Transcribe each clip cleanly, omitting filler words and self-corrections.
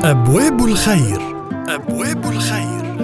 أبواب الخير. أبواب الخير.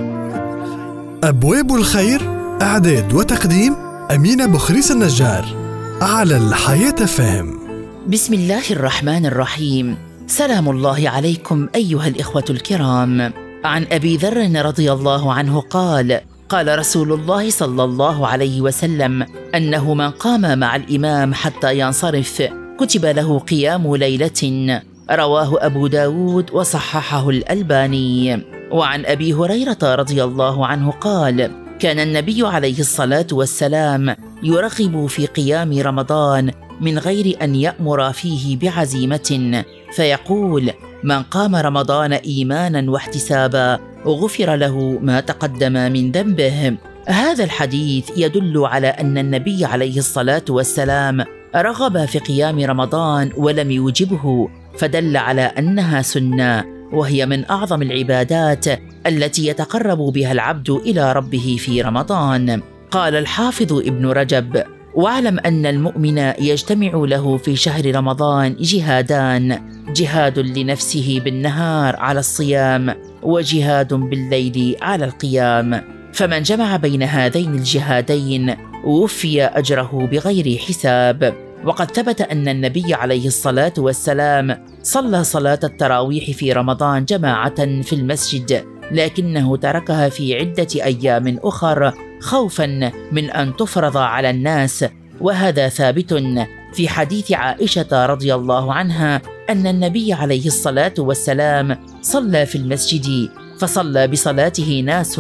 أبواب الخير، إعداد وتقديم أمينة بخريس النجار، على الحياة فهم. بسم الله الرحمن الرحيم. سلام الله عليكم أيها الإخوة الكرام. عن أبي ذر رضي الله عنه قال رسول الله صلى الله عليه وسلم أنه من قام مع الإمام حتى ينصرف كتب له قيام ليلة، رواه أبو داود وصححه الألباني. وعن أبي هريرة رضي الله عنه قال كان النبي عليه الصلاة والسلام يرغب في قيام رمضان من غير أن يأمر فيه بعزيمة، فيقول: من قام رمضان إيمانا واحتسابا غفر له ما تقدم من ذنبه. هذا الحديث يدل على أن النبي عليه الصلاة والسلام رغب في قيام رمضان ولم يوجبه، فدل على أنها سنة، وهي من أعظم العبادات التي يتقرب بها العبد إلى ربه في رمضان. قال الحافظ ابن رجب: واعلم أن المؤمن يجتمع له في شهر رمضان جهادان: جهاد لنفسه بالنهار على الصيام، وجهاد بالليل على القيام، فمن جمع بين هذين الجهادين وفي أجره بغير حساب. وقد ثبت أن النبي عليه الصلاة والسلام صلى صلاة التراويح في رمضان جماعة في المسجد، لكنه تركها في عدة أيام أخر خوفا من أن تفرض على الناس. وهذا ثابت في حديث عائشة رضي الله عنها أن النبي عليه الصلاة والسلام صلى في المسجد، فصلى بصلاته ناس،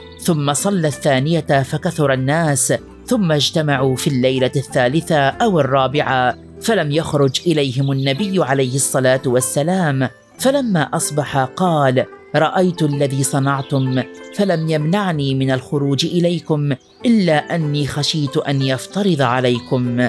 ثم صلى الثانية فكثر الناس، ثم اجتمعوا في الليلة الثالثة أو الرابعة، فلم يخرج إليهم النبي عليه الصلاة والسلام. فلما أصبح قال: رأيت الذي صنعتم، فلم يمنعني من الخروج إليكم إلا أني خشيت أن يفترض عليكم،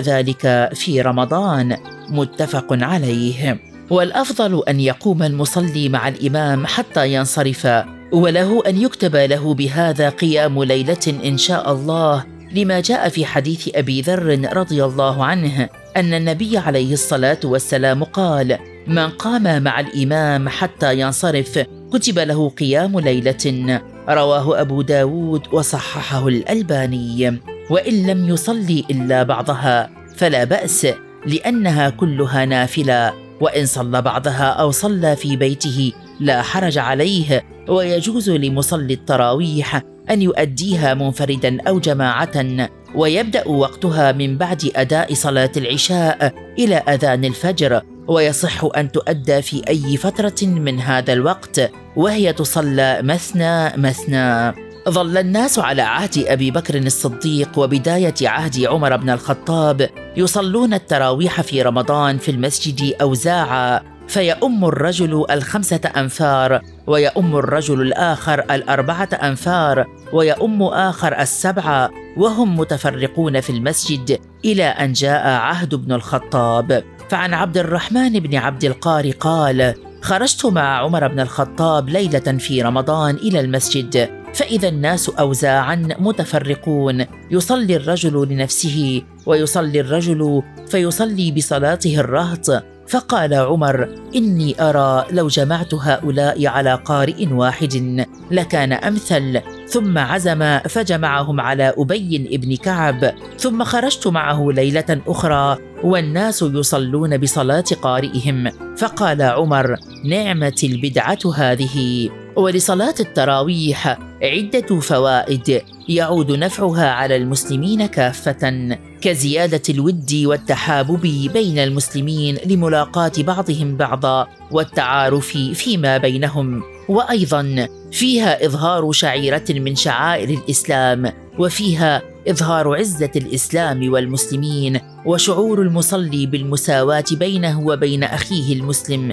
وذلك في رمضان. متفق عليه. والأفضل أن يقوم المصلي مع الإمام حتى ينصرف، وله أن يكتب له بهذا قيام ليلة إن شاء الله، لما جاء في حديث أبي ذر رضي الله عنه أن النبي عليه الصلاة والسلام قال: من قام مع الإمام حتى ينصرف كتب له قيام ليلة، رواه أبو داود وصححه الألباني. وإن لم يصلي إلا بعضها فلا بأس، لأنها كلها نافلة، وإن صلى بعضها أو صلى في بيته لا حرج عليه. ويجوز لمصلي التراويح أن يؤديها منفردا أو جماعة، ويبدأ وقتها من بعد أداء صلاة العشاء إلى أذان الفجر، ويصح أن تؤدى في أي فترة من هذا الوقت، وهي تصلى مثنى مثنى. ظل الناس على عهد أبي بكر الصديق وبداية عهد عمر بن الخطاب يصلون التراويح في رمضان في المسجد أوزاعا، فيؤم الرجل 5 أنفار، ويؤم الرجل الآخر 4 أنفار، ويؤم آخر 7، وهم متفرقون في المسجد إلى أن جاء عهد ابن الخطاب. فعن عبد الرحمن بن عبد القار قال: خرجت مع عمر بن الخطاب ليلة في رمضان إلى المسجد، فإذا الناس أوزاعا متفرقون، يصلي الرجل لنفسه ويصلي الرجل فيصلي بصلاته الرهط. فقال عمر: إني أرى لو جمعت هؤلاء على قارئ واحد لكان أمثل. ثم عزم فجمعهم على أبي بن كعب، ثم خرجت معه ليلة أخرى والناس يصلون بصلاة قارئهم، فقال عمر: نعمة البدعة هذه. ولصلاة التراويح عدة فوائد يعود نفعها على المسلمين كافة، كزيادة الود والتحابب بين المسلمين لملاقاة بعضهم بعضا والتعارف فيما بينهم، وأيضا فيها إظهار شعيرة من شعائر الإسلام، وفيها إظهار عزة الإسلام والمسلمين، وشعور المصلي بالمساواة بينه وبين أخيه المسلم،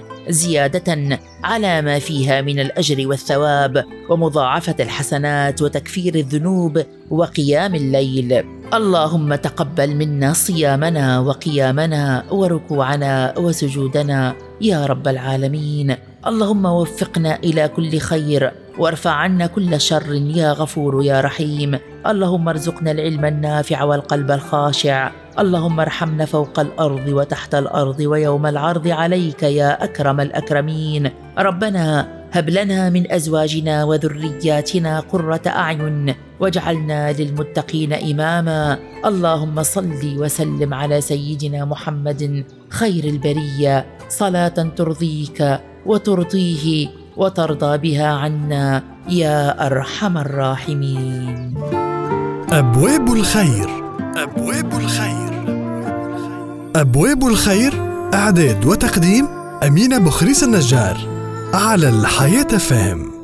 زيادة على ما فيها من الأجر والثواب ومضاعفة الحسنات وتكفير الذنوب وقيام الليل. اللهم تقبل منا صيامنا وقيامنا وركوعنا وسجودنا يا رب العالمين. اللهم وفقنا إلى كل خير، وارفع عنا كل شر يا غفور يا رحيم. اللهم ارزقنا العلم النافع والقلب الخاشع، اللهم ارحمنا فوق الأرض وتحت الأرض ويوم العرض عليك يا أكرم الأكرمين. ربنا هب لنا من أزواجنا وذرياتنا قرة أعين واجعلنا للمتقين إماما. اللهم صل وسلم على سيدنا محمد خير البرية صلاة ترضيك وترضيه وترضى بها عنا يا أرحم الراحمين. أبواب الخير. أبواب الخير. أبواب الخير إعداد وتقديم أمينة بخريس النجار على الحياة FM.